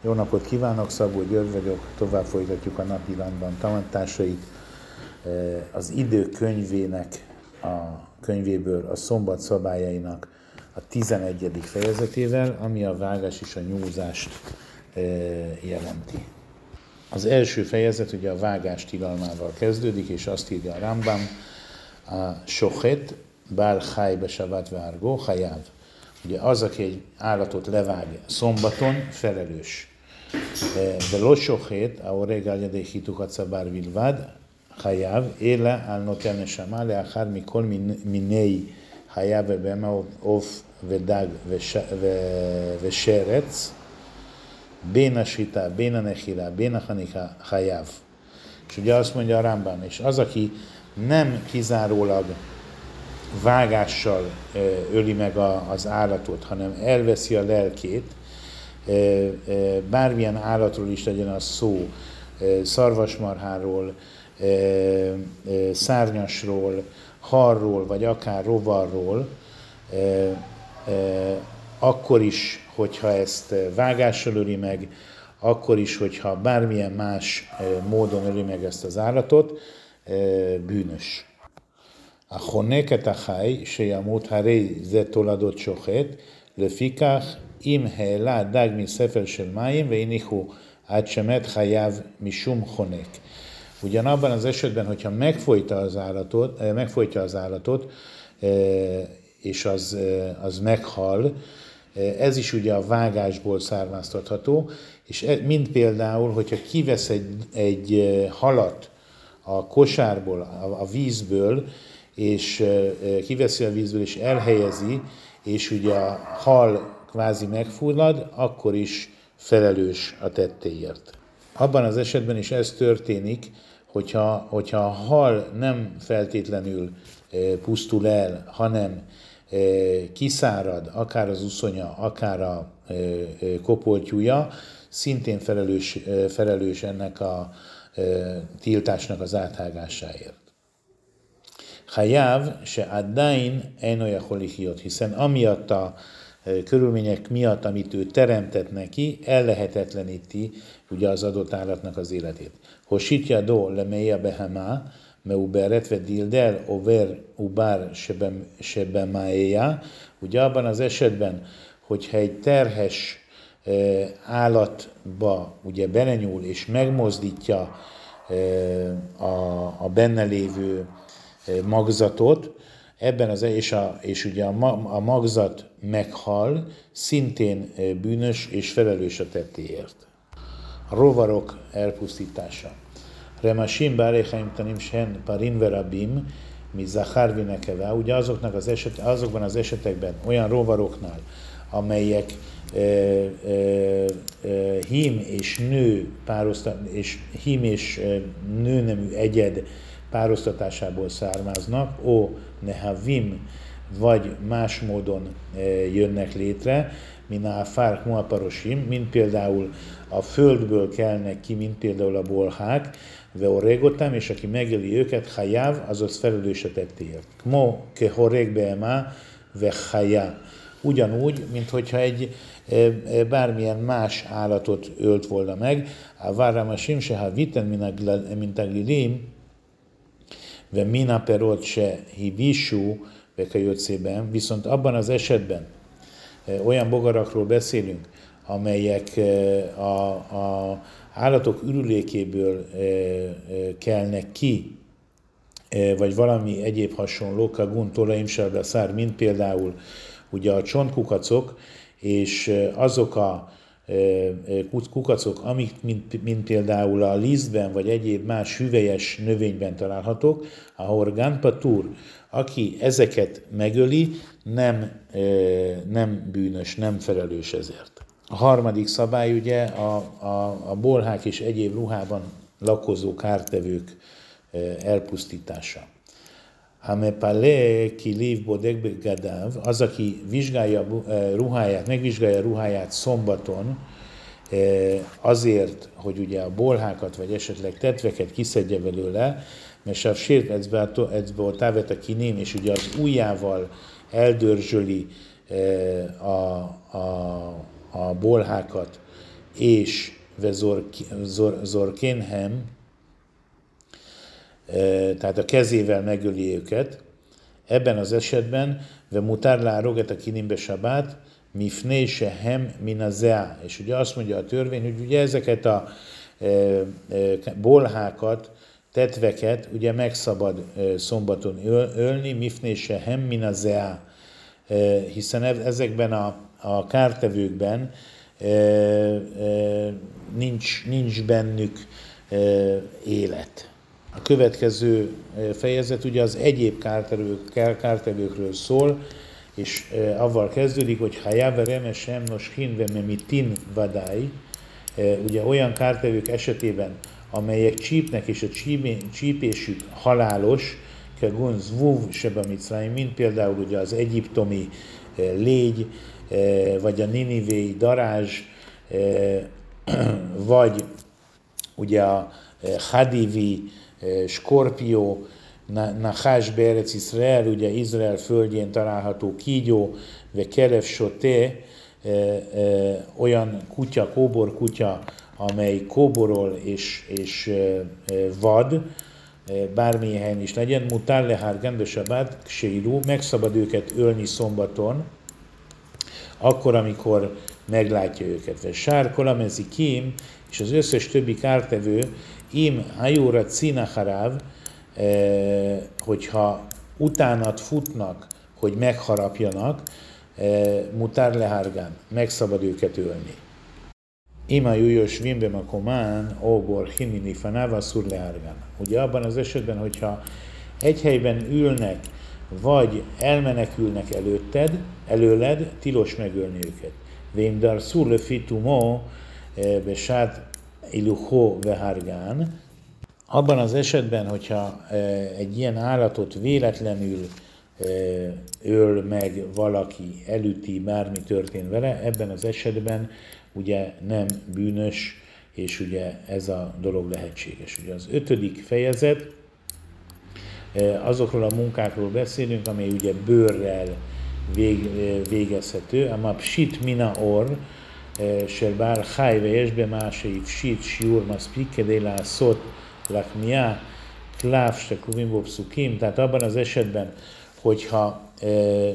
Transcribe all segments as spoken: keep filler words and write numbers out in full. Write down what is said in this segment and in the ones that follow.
Jó napot kívánok, Szabó György vagyok, tovább folytatjuk a napi Rambam tanításait. Az Idők könyvének, a könyvéből a szombat szabályainak a tizenegyedik fejezetével, ami a vágás és a nyúzást jelenti. Az első fejezet ugye a vágás tilalmával kezdődik, és azt írja a Rambam, a sochet, bál cháj besavat várgó, hajáv. Ugye az, aki egy állatot levág szombaton, felelős. De lo sochet, a reggel jadei hitukat szabár vilvad, hajáv, éle al noten neshama, leachar mikol minei hajáv bema of vedag veserec, bén a sita, bén a nechila, bén a hanika, hajáv. És ugye azt mondja a Rambam, és az, aki nem kizárólag vágással öli meg a, az állatot, hanem elveszi a lelkét, bármilyen állatról is legyen az szó, szarvasmarháról, szárnyasról, harról, vagy akár rovarról, akkor is, hogyha ezt vágással öli meg, akkor is, hogyha bármilyen más módon öli meg ezt az állatot, bűnös. A honeket a cháj, sejamut haré ze toladot sochet, lefikach im heela dag mi szefer sel máim, ve inichu át semet hajáv misum honek. Ugyanabban az esetben, hogyha megfojta az állatot, megfojtja az állatot, és az, az meghal, ez is ugye a vágásból származtatható, és mint például, hogyha kivesz egy, egy halat a kosárból, a, a vízből, és kiveszi a vízből, és elhelyezi, és ugye a hal kvázi megfullad, akkor is felelős a tettéért. Abban az esetben is ez történik, hogyha, hogyha a hal nem feltétlenül pusztul el, hanem kiszárad, akár az uszonya, akár a kopoltyúja, szintén felelős, felelős ennek a tiltásnak az áthágásáért. Hajáv se addain eno jachol lichiyot, hiszen amiatt a körülmények miatt, amit ő teremtett neki, ellehetetleníti ugye az adott állatnak az életét. Hositja do lemeja behemá, meuberet ve dildel over ubar sebemáéja, ugye abban az esetben, hogyha egy terhes állatba ugye belenyúl és megmozdítja a, a benne lévő magzatot, ebben az, és, a, és ugye a, a magzat meghal, szintén bűnös és felelős a tettéért. A rovarok elpusztítása. Remasim báréhaim tanim sen parin verabim, mi zachár vinekeve, ugye azoknak az eset, azokban az esetekben olyan rovaroknál, amelyek e, e, e, hím és nő párosztat, és hím és nőnemű egyed pároztatásából származnak, ó nehavim, vagy más módon jönnek létre, mint a fárk muaparosim, mint például a földből kelnek ki, mint például a bolhák, ve oregotam, és aki megöli őket, hajáv, azaz felelős a tettéért. Kmo ke horeg beema ve hajá. Ugyanúgy, mint hogyha egy bármilyen más állatot ölt volna meg, a váramasim se ha viten mint a glilim, ve mina perot se hivisú, vekajöccében, viszont abban az esetben olyan bogarakról beszélünk, amelyek a, a állatok ürülékéből kelnek ki, vagy valami egyéb hasonló, kagun tolaim sardaszár, mint például ugye a csontkukacok, és azok a kukacok, amik mint, mint például a lisztben, vagy egyéb más hüvelyes növényben találhatók, a horgán patur, aki ezeket megöli, nem, nem bűnös, nem felelős ezért. A harmadik szabály ugye a, a, a bolhák és egyéb ruhában lakozó kártevők elpusztítása. Hamepale kiliv bodek begadav, az, aki vizsgálja ruháját, megvizsgálja ruháját szombaton, azért, hogy ugye a bolhákat, vagy esetleg tetveket kiszedje belőle, mert sáv sért ecbe távet a kiném, és ugye az ujjával eldörzsöli a, a, a bolhákat, és vezorkénhem, tehát a kezével megöli őket, ebben az esetben ve mutár lároget a kinimbe sabát, mifné sehem minazea. És ugye azt mondja a törvény, hogy ugye ezeket a e, e, bolhákat, tetveket ugye megszabad e, szombaton öl, ölni, mifné sehem minazea. E, hiszen ezekben a, a kártevőkben e, e, nincs, nincs bennük e, élet. A következő fejezet ugye az egyéb kártevők, kártevőkről szól, és e, avval kezdődik, hogy hajáve remesem nos hinve memitin vadály, e, ugye olyan kártevők esetében, amelyek csípnek, és a csípésük halálos, kegun zvuv seba mitzrayim, mint például ugye az egyiptomi e, légy, e, vagy a ninivéi darázs, e, vagy ugye a e, hadivi e, skorpió, Nachás Berec Izrael, ugye Izrael földjén található kígyó, ve kerev soté, olyan kutya, kóbor kutya, amely kóborol és, és vad, bármilyen helyen is legyen, mutál lehár gendesabát, ksérú, megszabad őket ölni szombaton, akkor, amikor meglátja őket. Ve sár kolamezi kim, és az összes többi kártevő, im hajóra cinaharáv, Eh, hogyha utánat futnak, hogy megharapjanak, eh, mutár lehárgán, megszabad őket ölni. Ima jújos vimbe a komán, óbor himini fanáva szur lehárgán. Ugye abban az esetben, hogyha egy helyben ülnek, vagy elmenekülnek előtted, előled, tilos megölni őket. Vémdar szur le fitumó, besát iluhó vehárgán. Abban az esetben, hogyha egy ilyen állatot véletlenül öl meg valaki, elüti, bármi történt vele, ebben az esetben ugye nem bűnös, és ugye ez a dolog lehetséges. Ugye az ötödik fejezet, azokról a munkákról beszélünk, amely ugye bőrrel vég, végezhető, ama psit mina or, של בעל חי ויש במעשי פשיט שיעור מספיק כדי לעשות lakmia, kláv se kluvim bo pszukim, tehát abban az esetben, hogyha e,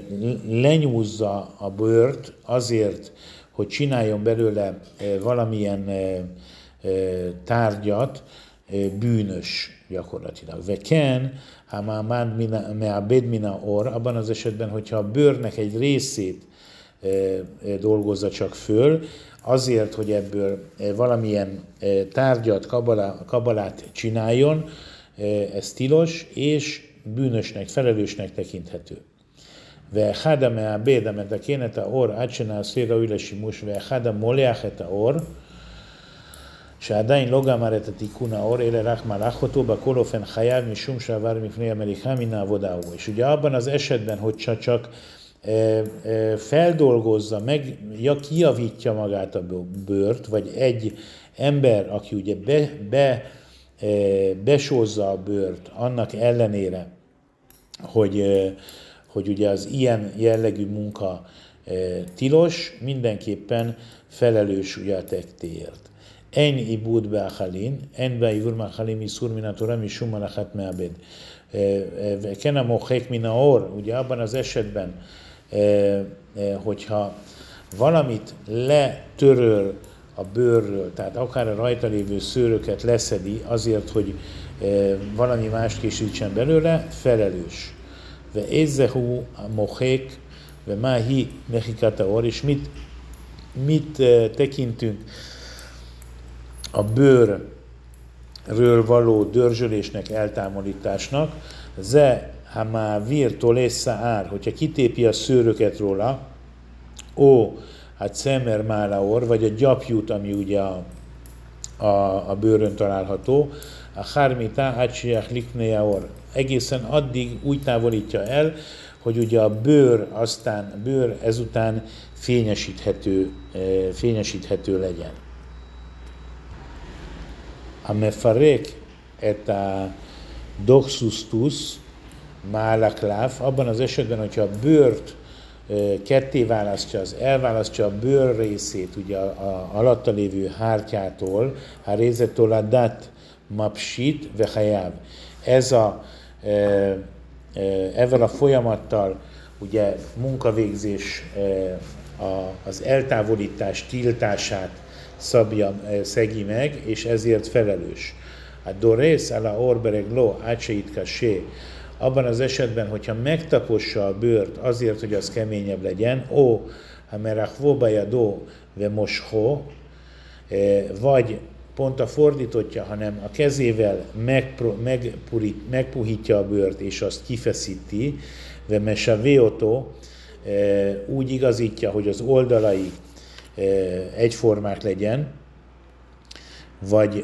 lenyúzza a bőrt azért, hogy csináljon belőle e, valamilyen e, e, tárgyat, e, bűnös gyakorlatilag. Veken, ha már meabed mina or, abban az esetben, hogyha a bőrnek egy részét e, e, dolgozza csak föl, azért, hogy ebből valamilyen tárgyat, kabalá, kabalát csináljon, ez tilos, és bűnösnek, felelősnek tekinthető. Ve hada me'abed המתקן את האור עד שנעשה ראוי לשימוש ואחד המולח את האור שעדיין לא גמר את התיקון האור אלא רק מלח אותו, בכל אופן חייב משום שעבר מפני המליחה מן העבודה ההוא. És ugye abban az esetben, hogy csak feldolgozza, meg ja, kijavítja magát a bőrt, vagy egy ember, aki ugye be, be, besózza a bőrt annak ellenére, hogy, hogy ugye az ilyen jellegű munka tilos, mindenképpen felelős ugye a tettéért. En ibud be'achalin, en be'ivur ma'achalin misur min ha-Torah mishum malachat me'abed. Ken a mochek min ha-or, ugye abban az esetben, hogyha valamit letöröl a bőrről, tehát akár a rajta lévő szőröket leszedi azért, hogy valami mást készítsen belőle, felelős. Ve ezzehu a mochek, ve máhi mechikat ha-or, és mit, mit tekintünk a bőrről való dörzsölésnek, eltávolításnak, ze ha már vír tolésza ár, hogyha kitépi a szőröket róla, ó, hát szemer málaor, vagy a gyapjút, ami ugye a, a, a bőrön található, a hármitá átsiach liknejaor, egészen addig úgy távolítja el, hogy ugye a bőr, aztán a bőr ezután fényesíthető, fényesíthető legyen. A mefarek et a doxustus, málakláv, abban az esetben, hogyha a bőrt ketté választja, az elválasztja a bőr részét, ugye a, a alatta lévő hártyától, ha rézettől a dat mapsit vehajáv. Ez a, e, e, ezzel a folyamattal ugye munkavégzés e, a, az eltávolítás tiltását szabja, e, szegi meg, és ezért felelős. A dorész ala orberegló átseit kasé. Abban az esetben, hogyha megtapossa a bőrt azért, hogy az keményebb legyen, ó, ha merachvó bajadó ve moshó, vagy pont a fordítottja, hanem a kezével megpurít, megpuhítja a bőrt, és azt kifeszíti, ve mesavéotó, úgy igazítja, hogy az oldalai egyformák legyen, vagy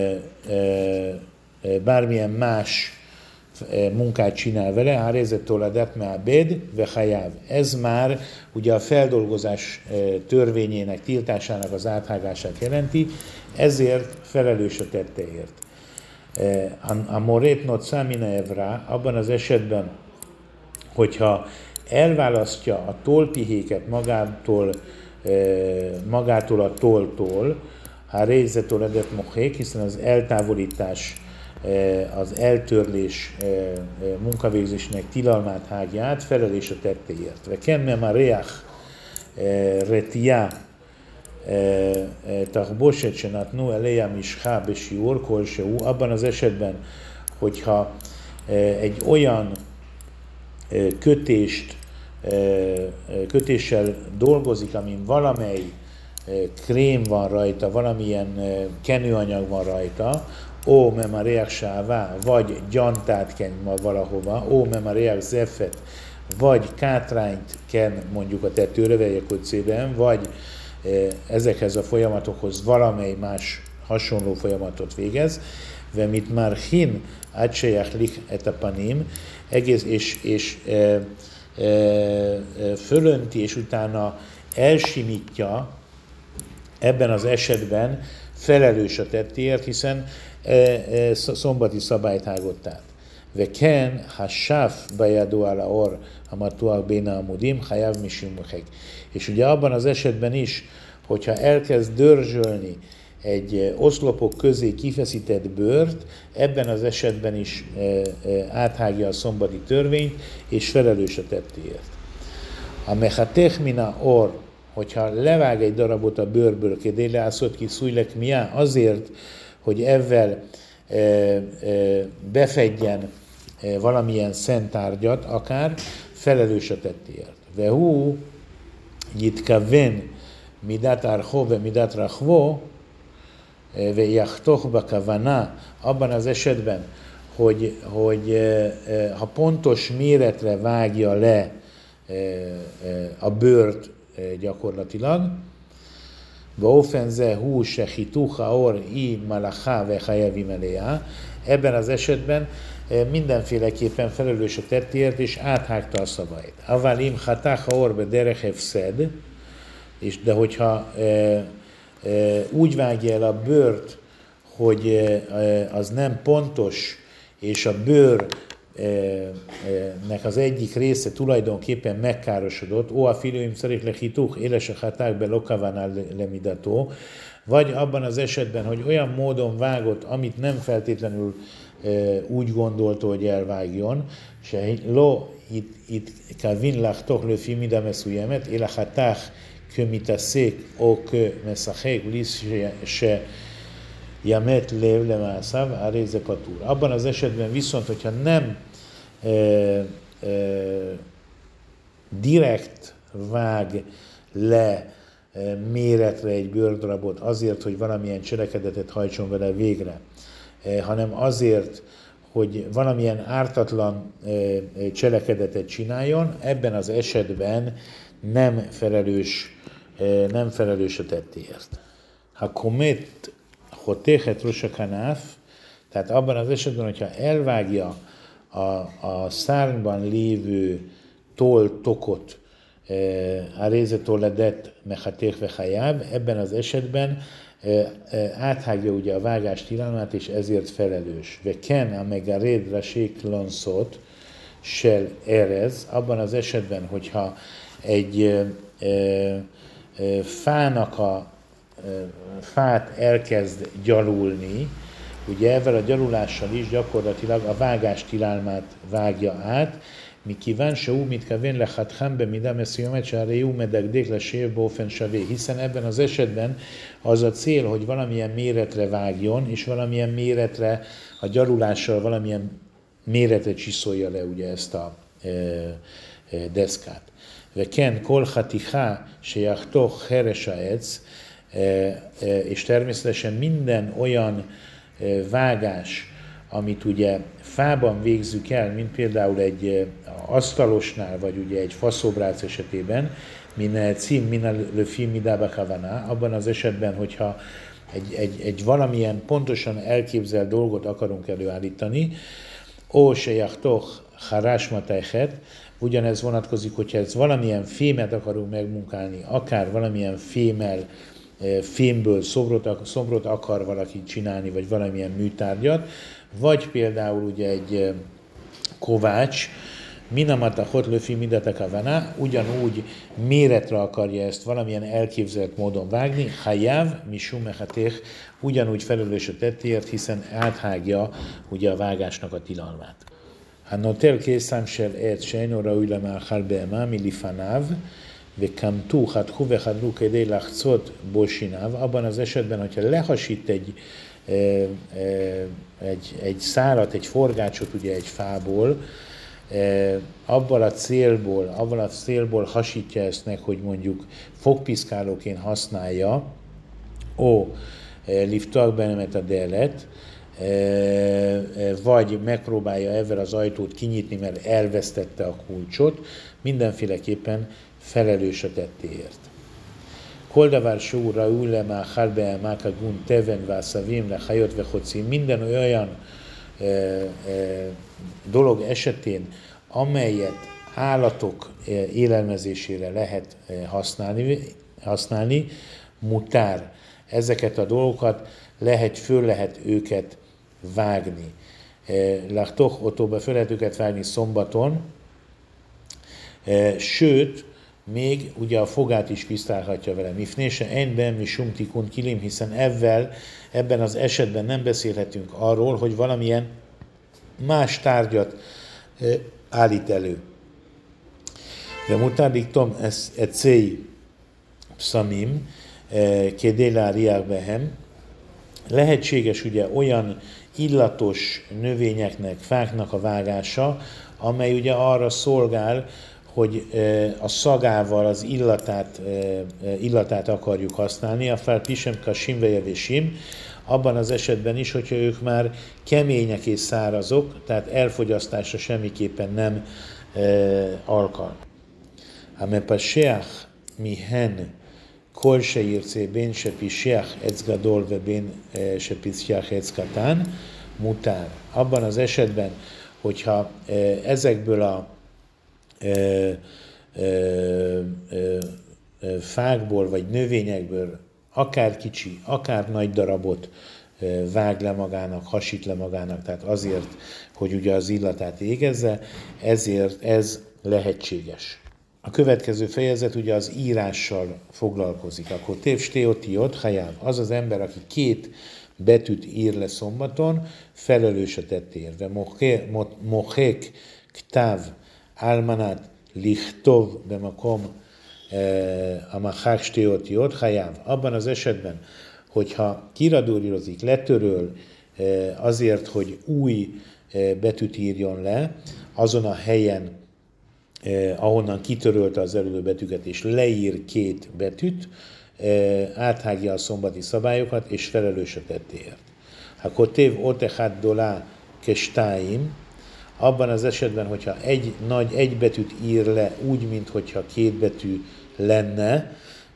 bármilyen más munkát csinál vele, hárézettől a detmeabed vehajáv. Ez már ugye a feldolgozás törvényének, tiltásának az áthágását jelenti, ezért felelős a tetteért. A morét not számina evra, abban az esetben, hogyha elválasztja a tollpihéket magától, magától a tolltól, hárézettől a detmohék, hiszen az eltávolítás, az eltörlés munkavégzésnek tilalmát hágja át, felelés a tettéért. Ve kemme ma reach retia tachboset senatnu eleja mishá besiur kolseu, abban az esetben, hogyha egy olyan kötést, kötéssel dolgozik, amin valamely krém van rajta, valamilyen kenőanyag van rajta, ó, memareach sává, vagy gyantát ken valahova, ó, memareach zeffet, vagy kátrányt ken mondjuk a tetőre, vejekocében, vagy ezekhez a folyamatokhoz valamely más hasonló folyamatot végez, ve mit már hin átsejach lich etapanim, egész és, és e, e, fölönti, és utána elsimítja, ebben az esetben felelős a tettéért, hiszen e, e, szombati szabályt hágott át. Ve ken, ha sáf bejadó ala or, ha matuak béna amudim, hajav misimuhek. És ugye abban az esetben is, hogyha elkezd dörzsölni egy oszlopok közé kifeszített bőrt, ebben az esetben is e, e, áthágja a szombati törvényt, és felelős a tettéért. A mechatech mina or, hogyha levág egy darabot a bőrből, kedéleászot ki szújlek miá, azért, hogy ezzel e, e, befedjen e, valamilyen szent tárgyat, akár felelős a tettéért. Vehú, jitkaven midat archó ve midat rachvó, ve jachtoch bakavana, abban az esetben, hogy, hogy e, e, ha pontos méretre vágja le e, e, a bőrt, gyakorlatilag. Baofenze hú se hituha or i malacha ve hajevim elejá. Ebben az esetben mindenféleképpen felelős a tettéért, és áthágta a szabályt. Avalim hatacha or be derech hefszed, és de hogyha e, e, úgy vágja el a bőrt, hogy e, az nem pontos, és a bőr nek az egyik része tulajdonképpen megkárosodott, ó, a filőim szerint lehituch, élese haták be lokavánál lemidató, vagy abban az esetben, hogy olyan módon vágott, amit nem feltétlenül e, úgy gondolta, hogy elvágjon, se lo itt kavin lachtoch löfi mida meszujemet, éle hatách kömitaszék, ó kö meszachek, lisz se jamet lev lemászáv, a réze patúr. Abban az esetben viszont, hogyha nem e, e, direkt vág le e, méretre egy bőrdarabot azért, hogy valamilyen cselekedetet hajtson vele végre, e, hanem azért, hogy valamilyen ártatlan e, cselekedetet csináljon, ebben az esetben nem felelős, e, nem felelős a tettéért. Ha komet hotéhet rosakanaf, tehát abban az esetben, hogyha elvágja a, a szárnyban lévő toll-tokot, a rézetolledet mechatéhve hajáb, ebben az esetben áthágja ugye a vágás tilalmát, és ezért felelős. Ve ken a megared rasék lanszot sel erez, abban az esetben, hogyha egy ö, ö, ö, fának a ö, fát elkezd gyalulni, ugye ezzel a gyalulással is gyakorlatilag a vágás tilalmát vágja át, מכיוון שהוא מתכוון לחתכם במידה מסוימת שהרי הוא מדקדק לשיר באופן שווה, hiszen ebben az esetben az a cél, hogy valamilyen méretre vágjon, és valamilyen méretre, a gyalulással valamilyen méretre csiszolja le ugye ezt a e, e, deszkát. Veken kol haticha sejachtoch heres haetz, és természetesen minden olyan vágás, amit ugye fában végzük el, mint például egy asztalosnál, vagy ugye egy faszobrác esetében, min cím, min löfim, midába kavaná, abban az esetben, hogyha egy, egy, egy valamilyen pontosan elképzelt dolgot akarunk előállítani, ó sejachtoch harásmatejhet, ugyanez vonatkozik, hogyha ez valamilyen fémet akarunk megmunkálni, akár valamilyen fémmel, fémből szobrot, szobrot akar valaki csinálni, vagy valamilyen műtárgyat, vagy például ugye egy kovács, minamata hot löfi midatakavaná, ugyanúgy méretre akarja ezt valamilyen elképzelt módon vágni, hajáv, misum mechatéh, ugyanúgy felelős a tettéért, hiszen áthágja ugye a vágásnak a tilalmát. הנוטל קיסם של עץ שאינו ראוי למאכל בהמה מלפניו, וקמטו, חתכו וחדלו כדי לחצות בו שיניו, abban az esetben, hogyha lehasít egy, egy, egy szálat, egy forgácsot ugye egy fából, abban a célból, abban a célból hasítja ezt meg, hogy mondjuk fogpiszkálóként használja, ó, liftak benemet a delet, vagy megpróbálja ezzel az ajtót kinyitni, mert elvesztette a kulcsot, mindenféleképpen felelős a tettéért. Koldavár sóra ülle már halbe mákagun teven vászavim le hajot vechocim, minden olyan e, e, dolog esetén, amelyet állatok élelmezésére lehet használni, használni mutár. Ezeket a dolgokat lehet, föl lehet őket vágni. Lachtoch otóba föl lehet őket vágni szombaton, sőt, még ugye a fogát is piszkálhatja vele. Mifnése enben mi sumtikun kilim, hiszen ebben, ebben az esetben nem beszélhetünk arról, hogy valamilyen más tárgyat állít elő. De mutádik tom ecei pszamim, kedéla riák behem, lehetséges ugye olyan illatos növényeknek, fáknak a vágása, amely ugye arra szolgál, hogy a szagával az illatát, illatát akarjuk használni, a fel pisem kasim vejevésim, abban az esetben is, hogyha ők már kemények és szárazok, tehát elfogyasztásra semmiképpen nem alkalmas. Ame passeach mihen kol sheirce ben shepisheach etz gadol ve ben shepisheach etz katán mutár. Abban az esetben, hogyha ezekből a Ö, ö, ö, ö, fákból vagy növényekből akár kicsi, akár nagy darabot ö, vág le magának, hasít le magának, tehát azért, hogy ugye az illatát égezze, ezért ez lehetséges. A következő fejezet ugye az írással foglalkozik. Akkor tév stéotiot, hajáv, az az ember, aki két betűt ír le szombaton, felelős a tettéért. De mohék ktáv álmanát lichtov bemakom a machák stéotiot hajáv. Abban az esetben, hogyha kiradúrírozik, letöröl azért, hogy új betűt írjon le, azon a helyen, ahonnan kitörölte az előző betűket, és leír két betűt, áthágja a szombati szabályokat, és felelős a tettéért. Akkor tév otechát dolá kestáim, abban az esetben, hogyha egy nagy egy betűt ír le úgy, mintha két betű lenne,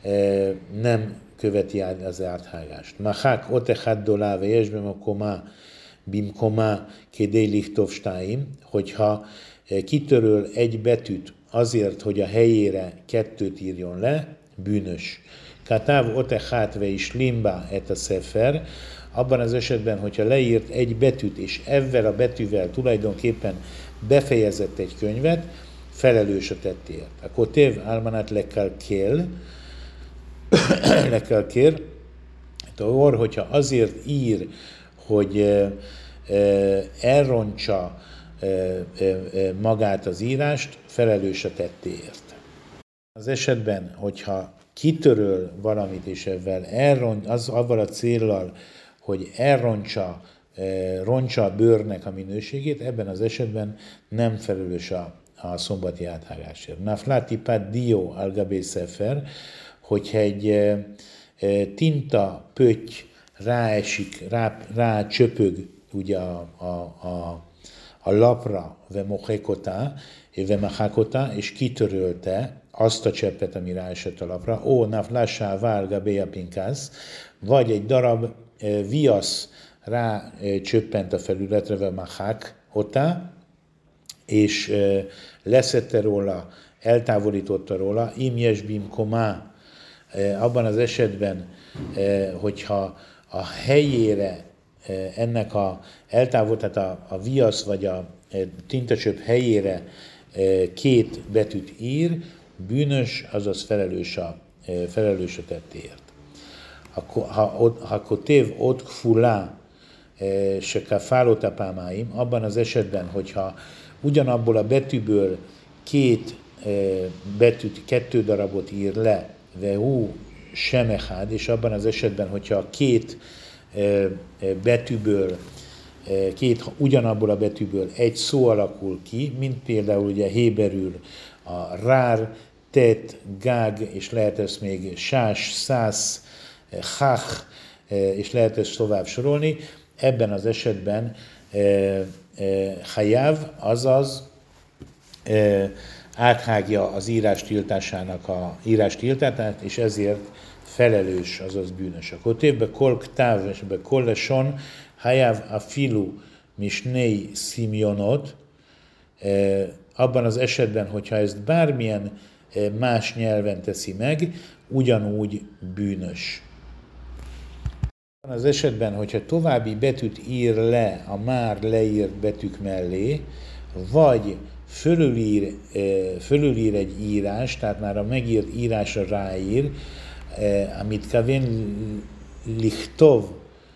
nem követi át az áthágást. Machák otechát dolá vejesbem a komá bimkomá kedé lichtov stáim, hogyha kitöröl egy betűt azért, hogy a helyére kettőt írjon le, bűnös. Katáv otechát ve is limba et a szefer, abban az esetben, hogyha leírt egy betűt, és ezzel a betűvel tulajdonképpen befejezett egy könyvet, felelős a tettért. A kotév álmanát le kell kér, le kell kér, or, hogyha azért ír, hogy elrontsa magát az írást, felelős a tettéért. Az esetben, hogyha kitöröl valamit, és ezzel elront, az avval a céllal, hogy elrontsa, rontsa a bőrnek a minőségét, ebben az esetben nem felelős a, a szombati áthágásért. Naflati pad dio al gabé sefer, hogyha egy tinta pötty ráesik, rá, rá csöpög ugye a, a, a, a lapra, ve mochekota, ve machakota, és kitörölte azt a cseppet, ami ráesett a lapra, ó, naflásá várga béja pinkász, vagy egy darab e, viasz rá e, csöppent a felületre, ve machakota, és e, leszette róla, eltávolította róla, im jesbim komá, e, abban az esetben, e, hogyha a helyére ennek a eltávol, tehát a, a viasz vagy a tintacsöp helyére két betűt ír, bűnös, azaz felelős a, felelős a tettéért. Ha kotév ott kfulá se kafálóta pámáim, abban az esetben, hogyha ugyanabból a betűből két betűt, kettő darabot ír le, vehú semechad, és abban az esetben, hogyha a két betűből, két ugyanabból a betűből egy szó alakul ki, mint például ugye héberül a rár, tet, gág, és lehet ezt még sás, szász, hach, és lehet ezt tovább sorolni. Ebben az esetben hajáv, azaz áthágja az írás tiltásának a írás tiltását, és ezért felelős, azaz bűnös. A kotévbe kol ktáv, és be kol leson, hajáv a filu misnei szimjonot, abban az esetben, hogyha ezt bármilyen más nyelven teszi meg, ugyanúgy bűnös. Abban az esetben, hogyha további betűt ír le a már leírt betűk mellé, vagy fölülír, fölülír egy írás, tehát már a megírt írásra ráír, amit kavén lichtov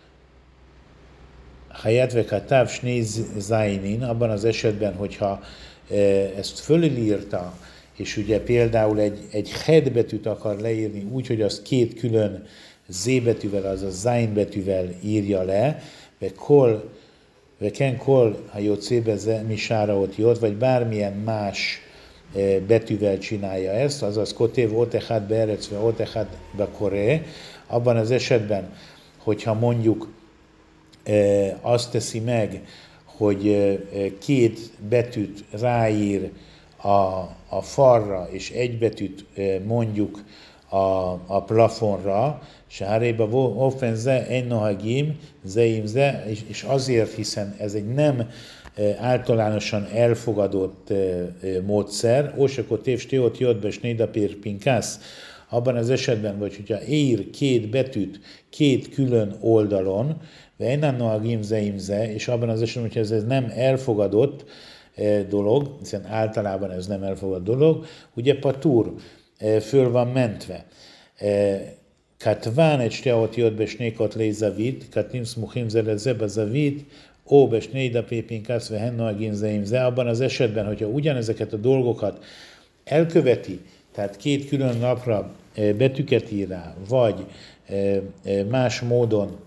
hayat ve katav shnei zainin, abban az esetben, hogyha ezt fölülírta, és ugye például egy, egy het betűt akar leírni úgy, hogy azt két külön z betűvel, azaz zain betűvel írja le, ve kol, ve ken kol, ha jó cébe misára ott jött, vagy bármilyen más betűvel csinálja ezt, azaz kotév otechad beerecve otechad bekoré, abban az esetben, hogyha mondjuk azt teszi meg, hogy két betűt ráír a, a falra, és egy betűt mondjuk a, a plafonra, se háréba offenze, ennohagim, zeimze, és azért, hiszen ez egy nem általánosan elfogadott módszer, ósakot tév stéot jött be snédapér pinkász, abban az esetben, vagy hogyha ír két betűt két külön oldalon, vejnannoagim zeimze, és abban az esetben, hogyha ez, ez nem elfogadott dolog, hiszen általában ez nem elfogadott dolog, ugye patur, föl van mentve. Katván egy stéot jött be snékot lé zavit, katim smuchim zelezebe zavit, ó, besnéi da pépinkász, ve hennoagin zeimze, abban az esetben, hogyha ugyanezeket a dolgokat elköveti, tehát két külön napra betűket ír rá, vagy más módon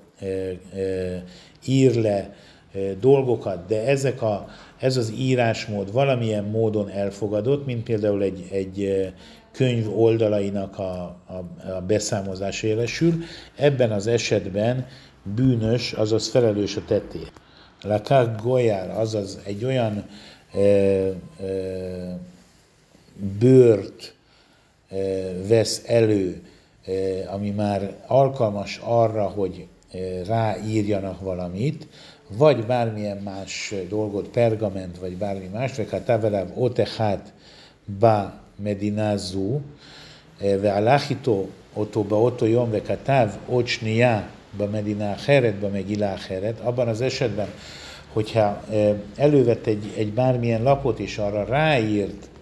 ír le dolgokat, de ezek a, ez az írásmód valamilyen módon elfogadott, mint például egy, egy könyv oldalainak a, a, a beszámozás élesül, ebben az esetben bűnös, azaz felelős a tettért. Lakák golyár, azaz egy olyan e, e, bőrt e, vesz elő, e, ami már alkalmas arra, hogy e, ráírjanak valamit, vagy bármilyen más dolgot, pergament, vagy bármi más, vagy hát táveláv otechát ba medinázú, ve alachito oto ba oto jom, ve katav ot shniya ba medina acheret, ba megila acheret, abban az esetben, hogyha elővett egy, egy bármilyen lapot, és arra ráírt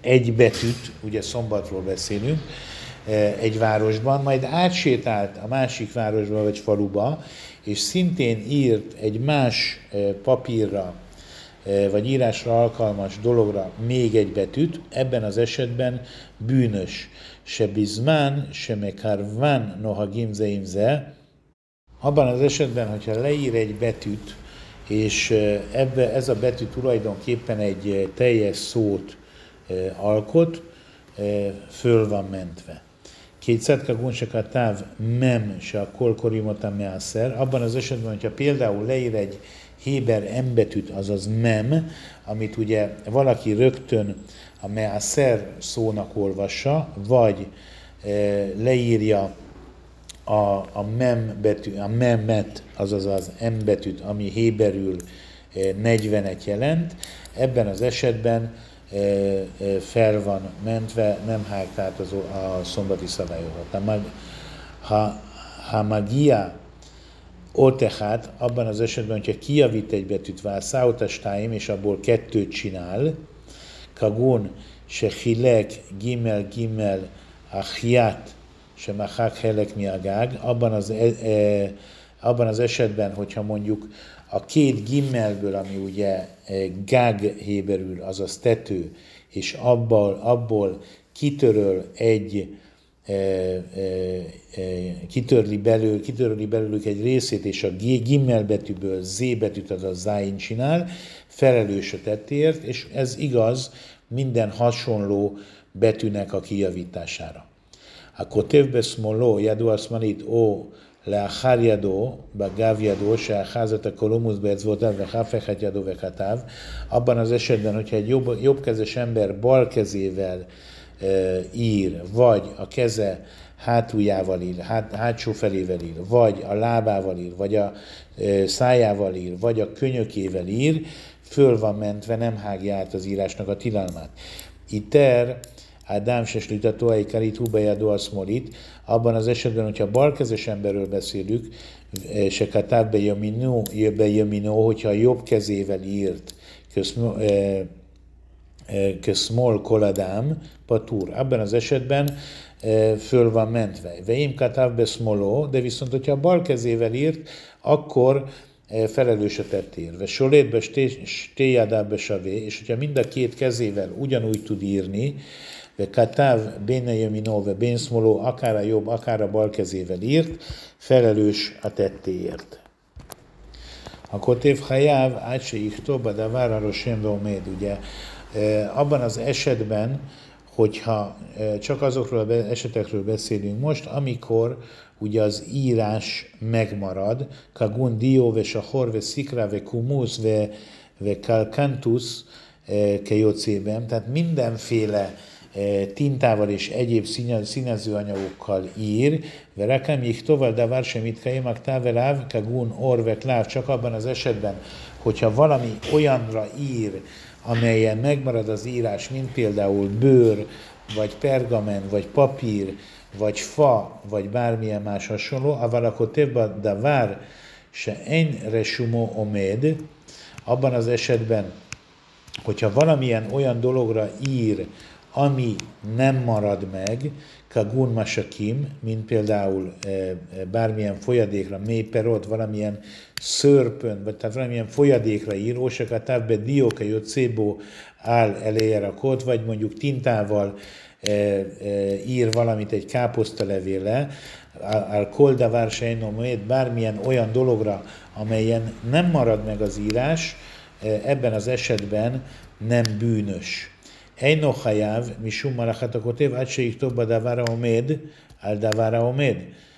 egy betűt, ugye Szombatról beszélünk, egy városban, majd átsétált a másik városba vagy faluba, és szintén írt egy más papírra, vagy írásra alkalmas dologra még egy betűt, ebben az esetben bűnös. Se bizmán, se mekarván, noha gimzeimze. Abban az esetben, hogyha leír egy betűt, és ebbe, ez a betű tulajdonképpen egy teljes szót alkot, föl van mentve. Kétszer kagun se katav mem se a kolkorimota meászer. Abban az esetben, hogyha például leír egy héber embetűt, azaz mem, amit ugye valaki rögtön a meászer szónak olvassa, vagy e, leírja a, a mem betű, a memet, azaz az m betűt, ami héberül e, negyvenet jelent, ebben az esetben e, e, fel van mentve, nem hágt át az, a szombati szabályokat. Ha, ha magia Otechát, abban az esetben, hogyha kijavít egy betűt, válszáutastáim, és abból kettőt csinál, kagun, se hilek, gimel, gimel, achiat, se machak helek miagág, abban az, e, e, abban az esetben, hogyha mondjuk a két gimmelből, ami ugye gág héberül, azaz tető, és abból, abból kitöröl egy kitörli, belül, kitörli belőlük egy részét, és a gimmel betűből Z betűt, azaz záin csinál, felelős a tettéért, és ez igaz minden hasonló betűnek a kijavítására. A kotevbe smolo, jadu asmanit, o leachar jado, bagav jado, se acházat a kolomusz beecvotav, vechafechet jado vekatav, abban az esetben, hogyha egy jobb, jobbkezes ember bal kezével ír, vagy a keze hátuljával ír, hát, hátsó felével ír, vagy a lábával ír, vagy a e, szájával ír, vagy a könyökével ír, föl van mentve, nem hágja át az írásnak a tilalmát. Iter, Ádám se slitatóa ikarit hubejadó a szmolit, abban az esetben, hogyha balkezes emberről beszélünk, se katáv bejöminó, hogyha a jobb kezével írt, köszönöm, e, Köszmol koladám, patúr. Abban az esetben e, föl van mentve. Veim katav beszmoló, de viszont, hogyha a bal kezével írt, akkor e, felelős a tettérve. Solétbe stéjadába savé, és hogyha mind a két kezével ugyanúgy tud írni, ve katav béne jöminó, ve bénszmoló, akár a jobb, akár a bal kezével írt, felelős a tettéért. A kotév hajáv, át se ichtó, badavar a rosén roméd, ugye, abban az esetben, hogyha csak azokról az esetekről beszélünk most, amikor ugye az írás megmarad, kagun dio ve sahor ve szikra ve kumusz ve, ve kalkantus kejocében, tehát mindenféle tintával és egyéb színezőanyagokkal ír, ve rakam jichtoval davar semit kaimak táveláv, kagun or ve kláv, csak abban az esetben, hogyha valami olyanra ír, amelyen megmarad az írás, mint például bőr, vagy pergamen, vagy papír, vagy fa, vagy bármilyen más hasonló, aval akkor tebba davar se en resumo omed, abban az esetben, hogyha valamilyen olyan dologra ír, ami nem marad meg, kagun masakim, mint például e, bármilyen folyadékra, mélyperot, valamilyen szörpön, vagy tehát valamilyen folyadékra ír, ósakatáv be dióka jocébó áll elejére rakott, vagy mondjuk tintával e, e, ír valamit egy káposztalevéle, al koldavár sejnomét, bármilyen olyan dologra, amelyen nem marad meg az írás, e, ebben az esetben nem bűnös. Eino hajáv, misum malachat a kotév, át se ichtobba davara omed, al davara omed.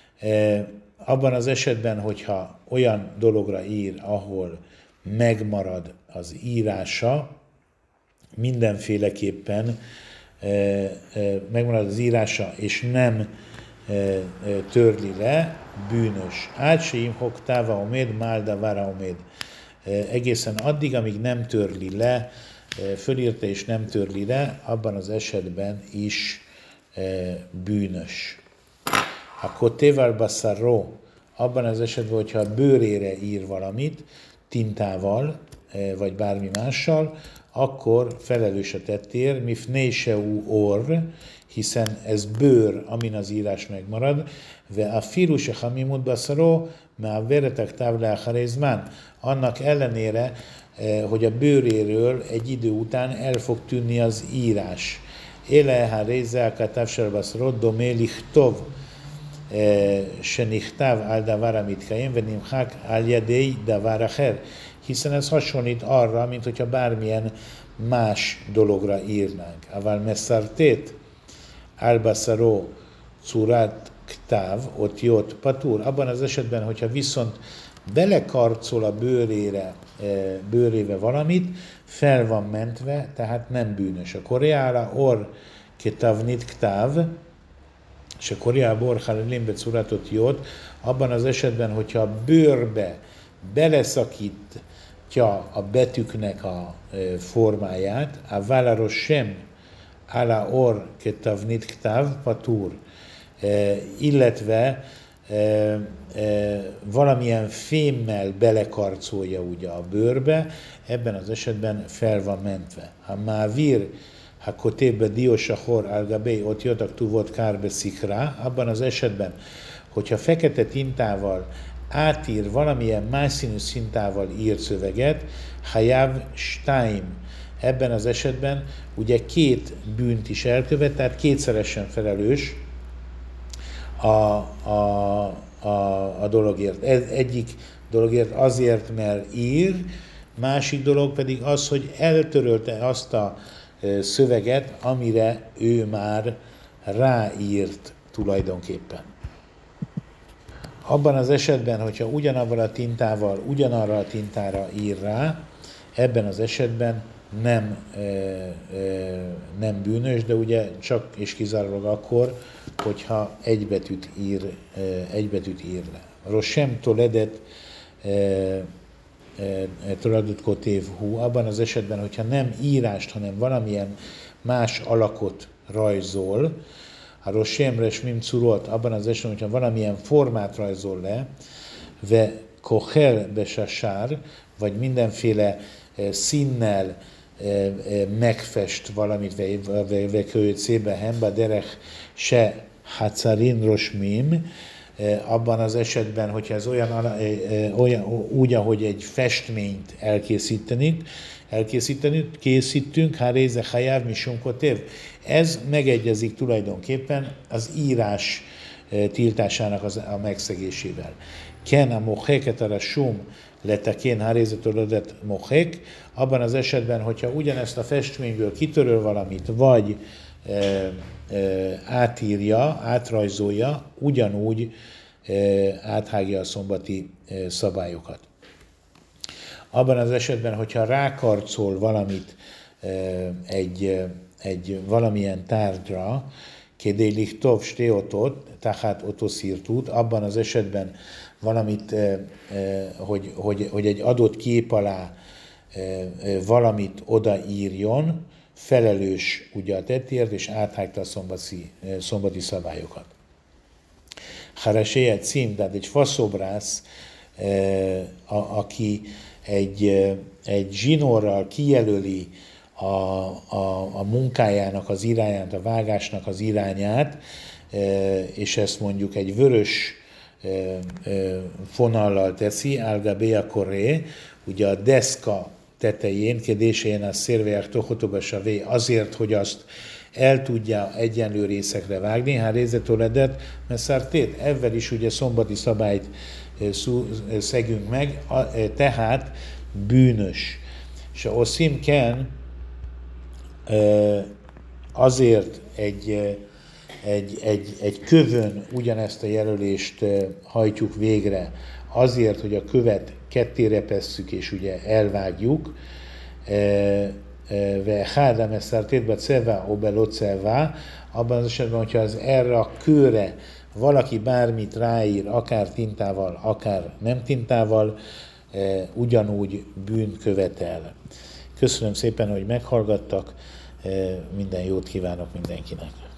Abban az esetben, hogyha olyan dologra ír, ahol megmarad az írása, mindenféleképpen e, e, megmarad az írása, és nem e, e, törli le, bűnös. Át se imhok táva omed, mál davara omed. E, egészen addig, amíg nem törli le, fölírta és nem törli le, abban az esetben is e, bűnös. A kotéval basszarró, abban az esetben, hogyha a bőrére ír valamit, tintával, e, vagy bármi mással, akkor felelős a tettér, mifnei seu or, hiszen ez bőr, amin az írás megmarad, ve a filu se hamimut baszaró, mert veretek távle a annak ellenére, hogy a bőréről egy idő után el fog tűnni az írás. Éle ha réze a katávsar baszaró, domé lichtov, se nichtáv al davar amitkaim, ve nimchák al jadei davar acher. Hiszen ez hasonlít arra, mint hogyha bármilyen más dologra írnánk. Aval messzartét, al-baszaró, curat, ktáv, ott jót, patúr. Abban az esetben, hogyha viszont belekarcol a bőrére, bőrébe valamit, fel van mentve, tehát nem bűnös. A koreára or ketavnit ktáv, és a koreába or halelimbe curatot jót, abban az esetben, hogyha a bőrbe beleszakítja a betűknek a formáját, a válaros sem ala or ketavnit ktáv patúr, illetve valamilyen fémmel belekarcolja ugye a bőrbe, ebben az esetben fel van mentve. Ha mávir, ha kotébe diósahor algabé ott jöttek tuvot kárbe szikra, abban az esetben, hogyha fekete tintával átír valamilyen más színű szintával írt szöveget, hajav stein. Ebben az esetben ugye két bűnt is elkövet, tehát kétszeresen felelős a, a, a, a dologért. Ez egyik dologért azért, mert ír, másik dolog pedig az, hogy eltörölte azt a szöveget, amire ő már ráírt tulajdonképpen. Abban az esetben, hogyha ugyanabban a tintával, ugyanarra a tintára ír rá, ebben az esetben nem, e, e, nem bűnös, de ugye csak és kizárólag akkor, hogyha egy betűt ír, e, egy betűt ír le. Rosem toledet toledet kotév hú, abban az esetben, hogyha nem írást, hanem valamilyen más alakot rajzol, a rosemre smim curot, abban az esetben, hogyha valamilyen formát rajzol le, ve kohel besasár, vagy mindenféle színnel megfest valamit, ve kölyt szébe hemba derech se hacarin rosmim, abban az esetben, hogyha ez olyan, olyan úgy, ahogy egy festményt elkészítenünk, elkészítenünk, készítünk, ha réze hajáv mi sunkotév. Ez megegyezik tulajdonképpen az írás tiltásának az, a megszegésével. Ken a mohéket arra sum letekén ha réze tolodet mohék, abban az esetben, hogyha ugyanezt a festményből kitöröl valamit, vagy e, e, átírja, átrajzolja, ugyanúgy e, áthágja a szombati e, szabályokat. Abban az esetben, hogyha rákarcol valamit e, egy, egy valamilyen tárgyra, kedélik tov steotot, tehát otoszírtút, abban az esetben valamit, e, e, hogy, hogy, hogy egy adott kép alá valamit odaírjon, felelős ugye a tettért, és áthágta a szombati, szombati szabályokat. Haraséje cím, tehát egy faszobrász, a, aki egy, egy zsinórral kijelöli a, a, a munkájának az irányát, a vágásnak az irányát, és ezt mondjuk egy vörös fonallal teszi, algabéa koré, ugye a deszka tetején, kedésén a szérvejek tohotoba savé, azért, hogy azt el tudja egyenlő részekre vágni, ha rézetoledet, mert szártét, ebben is ugye szombati szabályt szegünk meg, tehát bűnös. És a oszim ken azért egy, egy, egy, egy kövön ugyanezt a jelölést hajtjuk végre, azért, hogy a követ kettére pesszük, és ugye elvágjuk, ve hádám eszártétbe ceva obeloceva, abban az esetben, hogyha az erre a kőre valaki bármit ráír, akár tintával, akár nem tintával, ugyanúgy bűnt követel. Köszönöm szépen, hogy meghallgattak, minden jót kívánok mindenkinek.